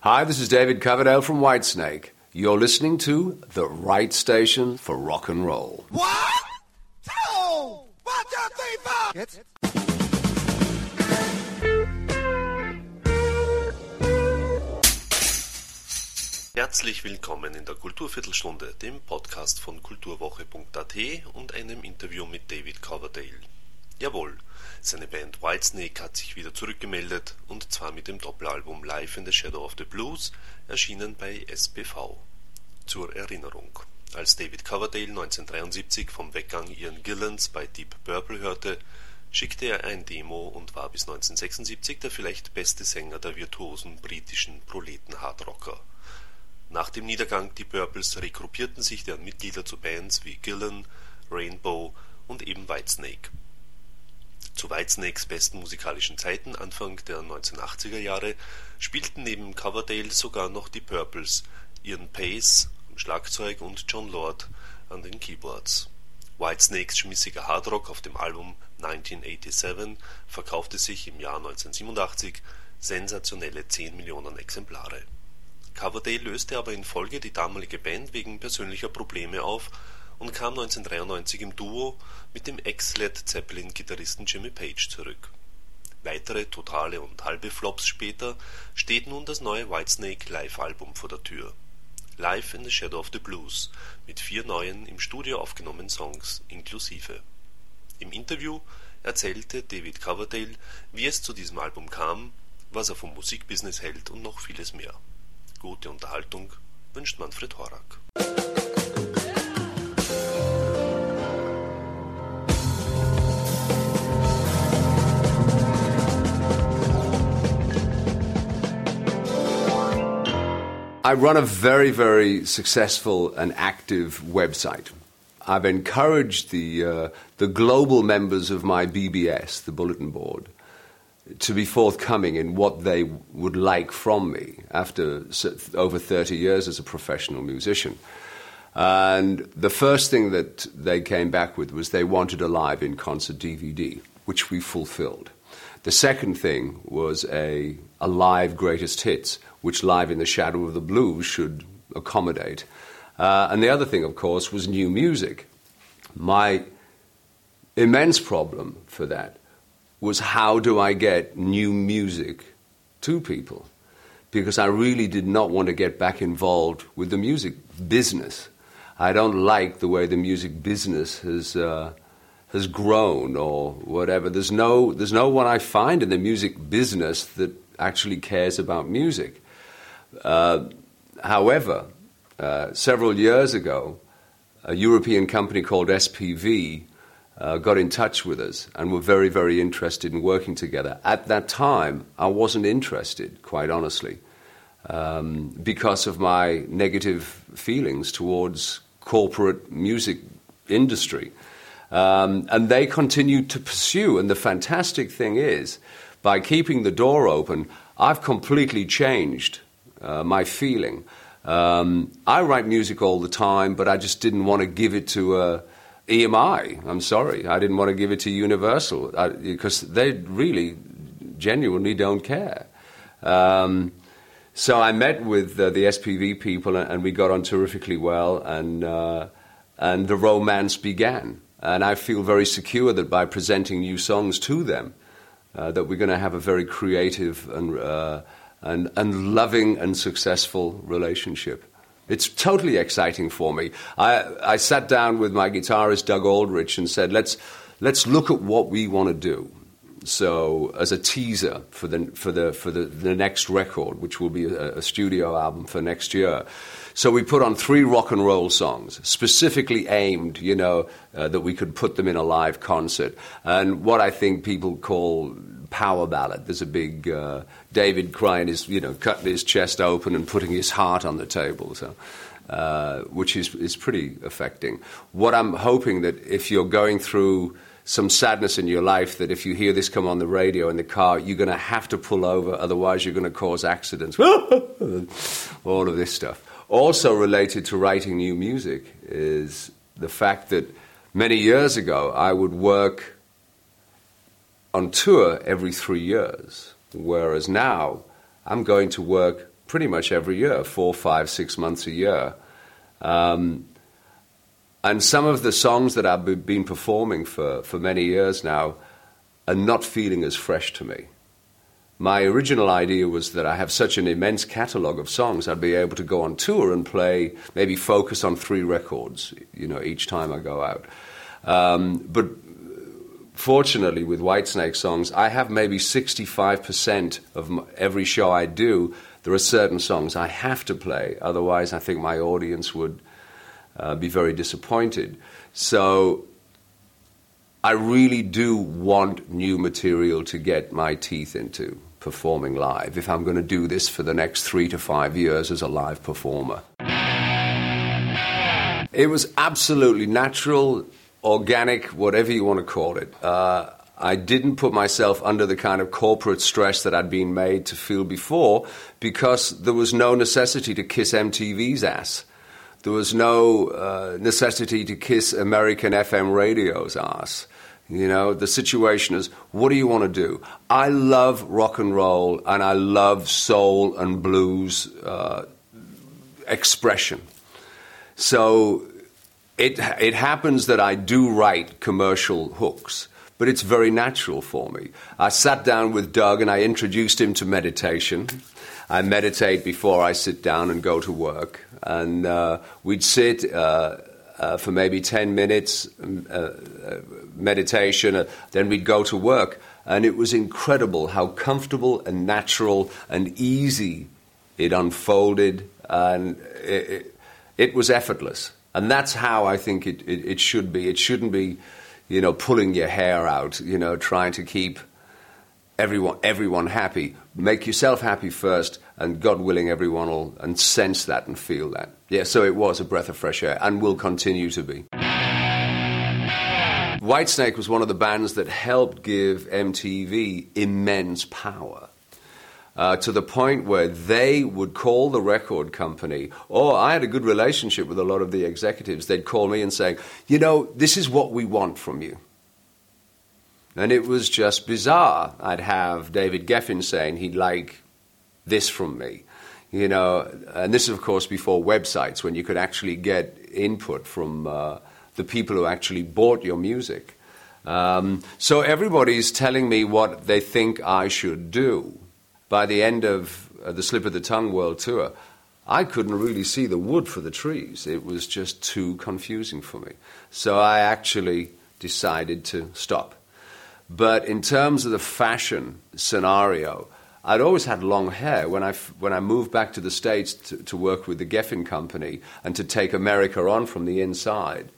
Hi, this is David Coverdale from Whitesnake. You're listening to the right station for rock and roll. 1, 2, 1, 2, 3, 4. Jetzt? Herzlich willkommen in der Kulturviertelstunde, dem Podcast von kulturwoche.at und einem Interview mit David Coverdale. Jawohl, seine Band Whitesnake hat sich wieder zurückgemeldet, und zwar mit dem Doppelalbum Live in the Shadow of the Blues, erschienen bei SPV. Zur Erinnerung: Als David Coverdale 1973 vom Weggang Ian Gillans bei Deep Purple hörte, schickte er ein Demo und war bis 1976 der vielleicht beste Sänger der virtuosen britischen Proleten-Hardrocker. Nach dem Niedergang Deep Purples regruppierten sich deren Mitglieder zu Bands wie Gillan, Rainbow und eben Whitesnake. Zu Whitesnakes besten musikalischen Zeiten Anfang der 1980er Jahre spielten neben Coverdale sogar noch die Purples, Ian Pace am Schlagzeug und Jon Lord an den Keyboards. Whitesnakes schmissiger Hardrock auf dem Album 1987 verkaufte sich im Jahr 1987 sensationelle 10 Millionen Exemplare. Coverdale löste aber in Folge die damalige Band wegen persönlicher Probleme auf und kam 1993 im Duo mit dem Ex-Led Zeppelin-Gitarristen Jimmy Page zurück. Weitere totale und halbe Flops später steht nun das neue Whitesnake Live-Album vor der Tür. Live in the Shadow of the Blues mit 4 neuen im Studio aufgenommenen Songs inklusive. Im Interview erzählte David Coverdale, wie es zu diesem Album kam, was er vom Musikbusiness hält und noch vieles mehr. Gute Unterhaltung wünscht Manfred Horak. I run a very, very successful and active website. I've encouraged the global members of my BBS, the bulletin board, to be forthcoming in what they would like from me after over 30 years as a professional musician. And the first thing that they came back with was they wanted a live in-concert DVD, which we fulfilled. The second thing was a live greatest hits, which Live in the Shadow of the Blues should accommodate. And the other thing, of course, was new music. My immense problem for that was, how do I get new music to people? Because I really did not want to get back involved with the music business. I don't like the way the music business has grown or whatever. There's no one I find in the music business that actually cares about music. However, several years ago, a European company called SPV got in touch with us and were very, very interested in working together. At that time, I wasn't interested, quite honestly, because of my negative feelings towards corporate music industry. And they continued to pursue. And the fantastic thing is, by keeping the door open, I've completely changed my feeling. I write music all the time, but I just didn't want to give it to EMI. I'm sorry. I didn't want to give it to Universal because they really genuinely don't care. So I met with the SPV people, and we got on terrifically well, and the romance began. And I feel very secure that by presenting new songs to them, that we're going to have a very creative and loving and successful relationship. It's totally exciting for me. I sat down with my guitarist Doug Aldrich and said, let's look at what we want to do. So as a teaser for the next record, which will be a studio album for next year. So we put on 3 rock and roll songs, specifically aimed, that we could put them in a live concert. And what I think people call power ballad. There's a big David crying cutting his chest open and putting his heart on the table, which is pretty affecting. What I'm hoping that if you're going through some sadness in your life, that if you hear this come on the radio in the car, you're going to have to pull over, otherwise you're going to cause accidents. All of this stuff. Also related to writing new music is the fact that many years ago I would work on tour every 3 years, whereas now I'm going to work pretty much every year, 4, 5, 6 months a year. And some of the songs that I've been performing for many years now are not feeling as fresh to me. My original idea was that I have such an immense catalogue of songs, I'd be able to go on tour and play, maybe focus on 3 records, each time I go out. But fortunately, with Whitesnake songs, I have maybe 65% of every show I do. There are certain songs I have to play, otherwise I think my audience would be very disappointed. So I really do want new material to get my teeth into performing live if I'm going to do this for the next 3 to 5 years as a live performer. It was absolutely natural, organic, whatever you want to call it. I didn't put myself under the kind of corporate stress that I'd been made to feel before, because there was no necessity to kiss MTV's ass. There was no necessity to kiss American FM radio's ass. The situation is, what do you want to do? I love rock and roll, and I love soul and blues expression. So it happens that I do write commercial hooks, but it's very natural for me. I sat down with Doug and I introduced him to meditation. I meditate before I sit down and go to work. And we'd sit for maybe 10 minutes, meditation, then we'd go to work. And it was incredible how comfortable and natural and easy it unfolded. And it was effortless. And that's how I think it should be. It shouldn't be, pulling your hair out, trying to keep everyone happy. Make yourself happy first, and God willing, everyone will and sense that and feel that. Yeah, so it was a breath of fresh air, and will continue to be. Whitesnake was one of the bands that helped give MTV immense power, to the point where they would call the record company, or I had a good relationship with a lot of the executives. They'd call me and say, this is what we want from you. And it was just bizarre. I'd have David Geffen saying he'd like this from me, and this is, of course, before websites, when you could actually get input from the people who actually bought your music. So everybody's telling me what they think I should do. By the end of the Slip of the Tongue World Tour, I couldn't really see the wood for the trees. It was just too confusing for me. So I actually decided to stop. But in terms of the fashion scenario, I'd always had long hair. When I moved back to the States to work with the Geffen Company and to take America on from the inside,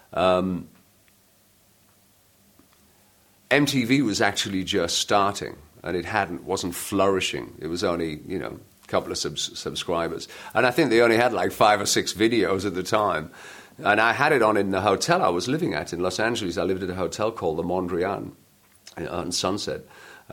MTV was actually just starting, and it wasn't flourishing. It was only, a couple of subscribers. And I think they only had like 5 or 6 videos at the time. And I had it on in the hotel I was living at in Los Angeles. I lived at a hotel called the Mondrian on Sunset.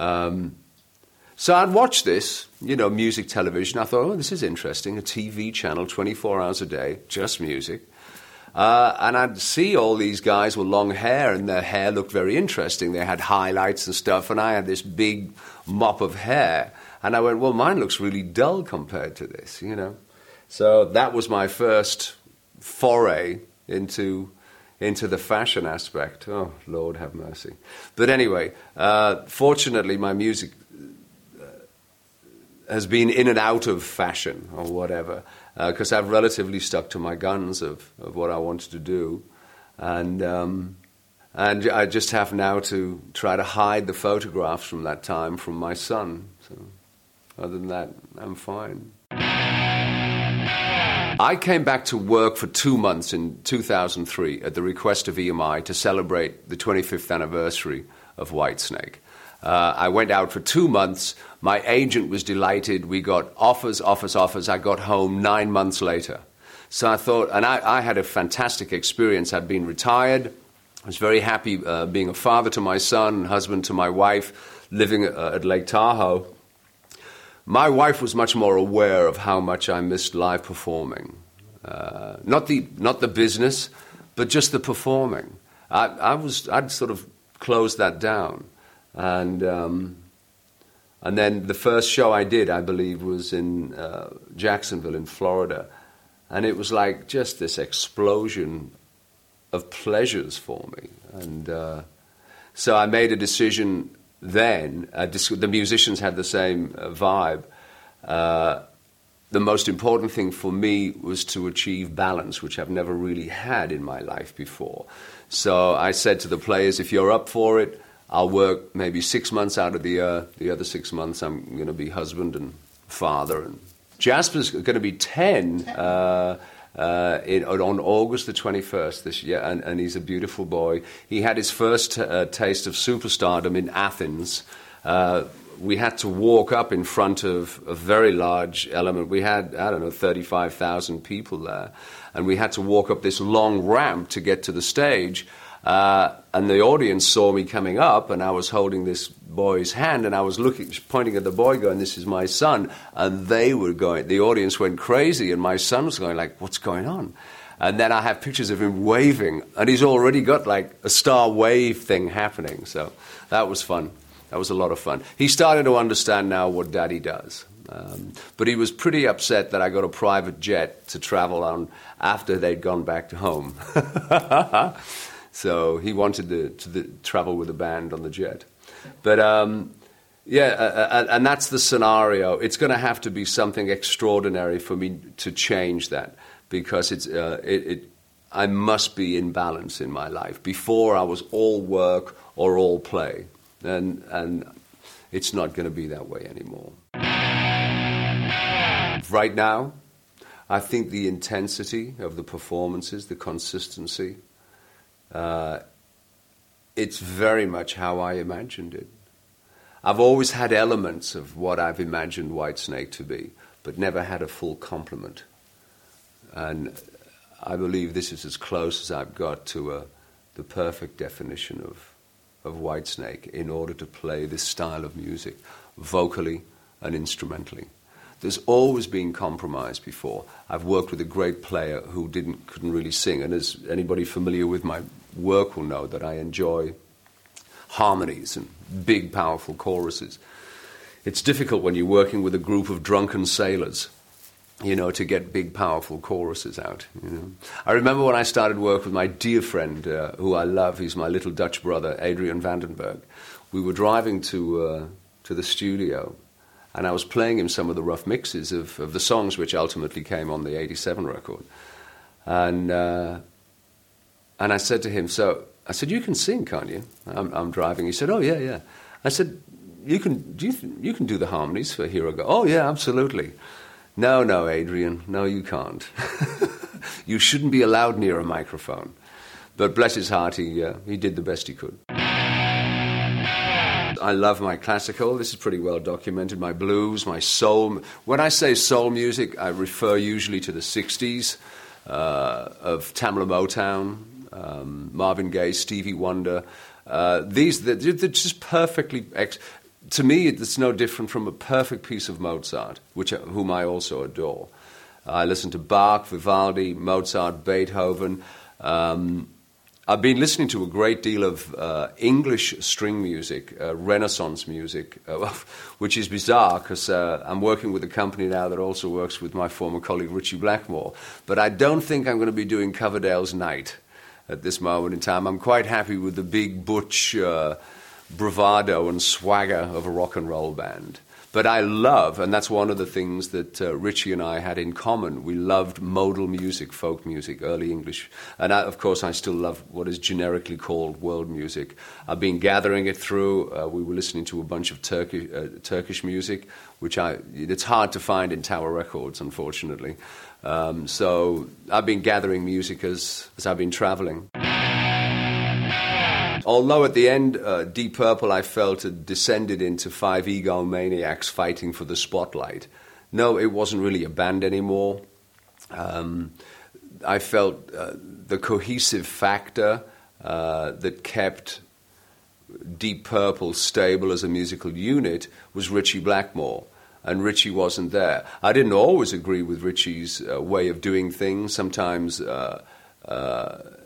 So I'd watch this, music television. I thought, this is interesting, a TV channel 24 hours a day, just music. And I'd see all these guys with long hair, and their hair looked very interesting. They had highlights and stuff, and I had this big mop of hair. And I went, well, mine looks really dull compared to this, So that was my first foray into the fashion aspect. Oh, Lord have mercy. But anyway, fortunately, my music has been in and out of fashion or whatever, because I've relatively stuck to my guns of what I wanted to do. And I just have now to try to hide the photographs from that time from my son. So other than that, I'm fine. I came back to work for 2 months in 2003 at the request of EMI to celebrate the 25th anniversary of Whitesnake. I went out for 2 months. My agent was delighted. We got offers. I got home 9 months later. So I thought, and I had a fantastic experience. I'd been retired. I was very happy being a father to my son, husband to my wife, living at Lake Tahoe. My wife was much more aware of how much I missed live performing. Not the business, but just the performing. I'd sort of closed that down. And And then the first show I did, I believe, was in Jacksonville in Florida. And it was like just this explosion of pleasures for me. And so I made a decision then. The musicians had the same vibe. The most important thing for me was to achieve balance, which I've never really had in my life before. So I said to the players, if you're up for it, I'll work maybe 6 months out of the year. The other 6 months, I'm going to be husband and father. And Jasper's going to be 10 on August the 21st this year, and he's a beautiful boy. He had his first taste of superstardom in Athens. We had to walk up in front of a very large element. We had, 35,000 people there. And we had to walk up this long ramp to get to the stage. And the audience saw me coming up, and I was holding this boy's hand, and I was pointing at the boy going, this is my son. And the audience went crazy, and my son was going like, what's going on? And then I have pictures of him waving, and he's already got like a star wave thing happening. So that was fun. That was a lot of fun. He started to understand now what Daddy does. But he was pretty upset that I got a private jet to travel on after they'd gone back to home. So he wanted to travel with the band on the jet. But and that's the scenario. It's going to have to be something extraordinary for me to change that, because I must be in balance in my life. Before I was all work or all play. And it's not going to be that way anymore. Right now, I think the intensity of the performances, the consistency, it's very much how I imagined it. I've always had elements of what I've imagined Whitesnake to be, but never had a full complement. And I believe this is as close as I've got to the perfect definition of Whitesnake in order to play this style of music, vocally and instrumentally. There's always been compromise before. I've worked with a great player who couldn't really sing, and as anybody familiar with my work will know that I enjoy harmonies and big, powerful choruses. It's difficult when you're working with a group of drunken sailors, to get big, powerful choruses out. I remember when I started work with my dear friend, who I love, he's my little Dutch brother, Adrian Vandenberg. We were driving to the studio, and I was playing him some of the rough mixes of the songs which ultimately came on the 87 record. And I said to him, you can sing, can't you? I'm driving. He said, oh, yeah. I said, you can do the harmonies for Here I Go. Oh, yeah, absolutely. No, Adrian, no, you can't. You shouldn't be allowed near a microphone. But bless his heart, he did the best he could. I love my classical. This is pretty well documented. My blues, my soul. When I say soul music, I refer usually to the 60s of Tamla Motown, Marvin Gaye, Stevie Wonder. They're just perfectly... To me, it's no different from a perfect piece of Mozart, whom I also adore. I listen to Bach, Vivaldi, Mozart, Beethoven. I've been listening to a great deal of English string music, Renaissance music, which is bizarre because I'm working with a company now that also works with my former colleague Richie Blackmore. But I don't think I'm going to be doing Coverdale's Night at this moment in time. I'm quite happy with the big butch... bravado and swagger of a rock and roll band. But I love, and that's one of the things that Richie and I had in common, we loved modal music, folk music, early English. And of course I still love what is generically called world music. I've been gathering it through. We were listening to a bunch of Turkish music, which it's hard to find in Tower Records, unfortunately. So I've been gathering music as I've been traveling. Although at the end, Deep Purple, I felt, had descended into five egomaniacs fighting for the spotlight. No, it wasn't really a band anymore. I felt the cohesive factor that kept Deep Purple stable as a musical unit was Richie Blackmore, and Richie wasn't there. I didn't always agree with Richie's way of doing things. Sometimes...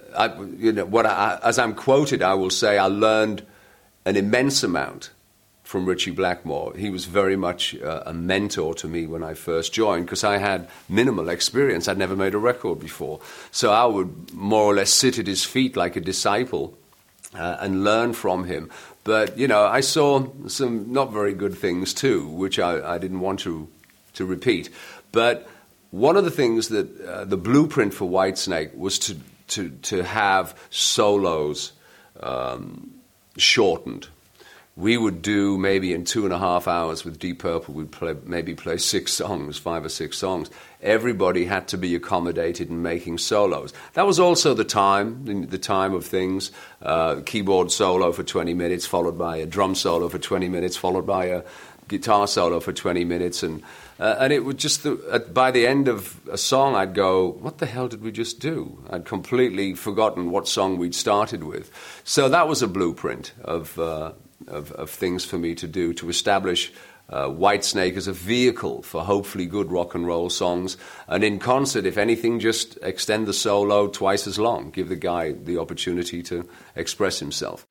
as I'm quoted, I will say I learned an immense amount from Ritchie Blackmore. He was very much a mentor to me when I first joined because I had minimal experience. I'd never made a record before. So I would more or less sit at his feet like a disciple and learn from him. But, you know, I saw some not very good things too, which I didn't want to repeat. But one of the things that the blueprint for Whitesnake was to have solos shortened. We would do maybe in 2.5 hours with Deep Purple, we'd play 6 songs, 5 or 6 songs. Everybody had to be accommodated in making solos. That was also the time of things. Keyboard solo for 20 minutes, followed by a drum solo for 20 minutes, followed by a guitar solo for 20 minutes. And it would just, by the end of a song, I'd go, what the hell did we just do? I'd completely forgotten what song we'd started with. So that was a blueprint of things for me to do, to establish Whitesnake as a vehicle for hopefully good rock and roll songs. And in concert, if anything, just extend the solo twice as long. Give the guy the opportunity to express himself.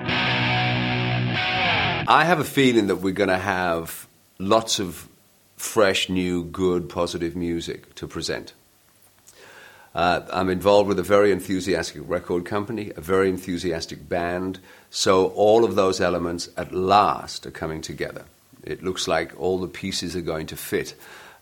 I have a feeling that we're going to have lots of fresh, new, good, positive music to present. I'm involved with a very enthusiastic record company, a very enthusiastic band, so all of those elements at last are coming together. It looks like all the pieces are going to fit.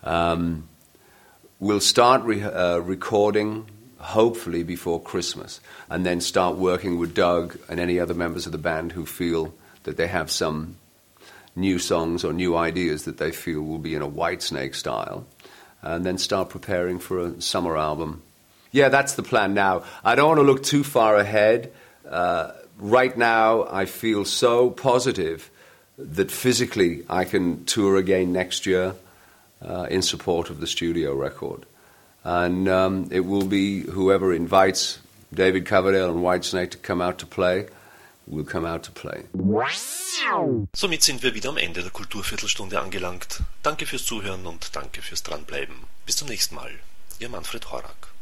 We'll start recording, hopefully before Christmas, and then start working with Doug and any other members of the band who feel that they have some new songs or new ideas that they feel will be in a Whitesnake style, and then start preparing for a summer album. Yeah, that's the plan now. I don't want to look too far ahead. Right now, I feel so positive that physically I can tour again next year in support of the studio record. And it will be whoever invites David Coverdale and Whitesnake to come out to play, will come out to play. Somit sind wir wieder am Ende der Kulturviertelstunde angelangt. Danke fürs Zuhören und danke fürs Dranbleiben. Bis zum nächsten Mal. Ihr Manfred Horak.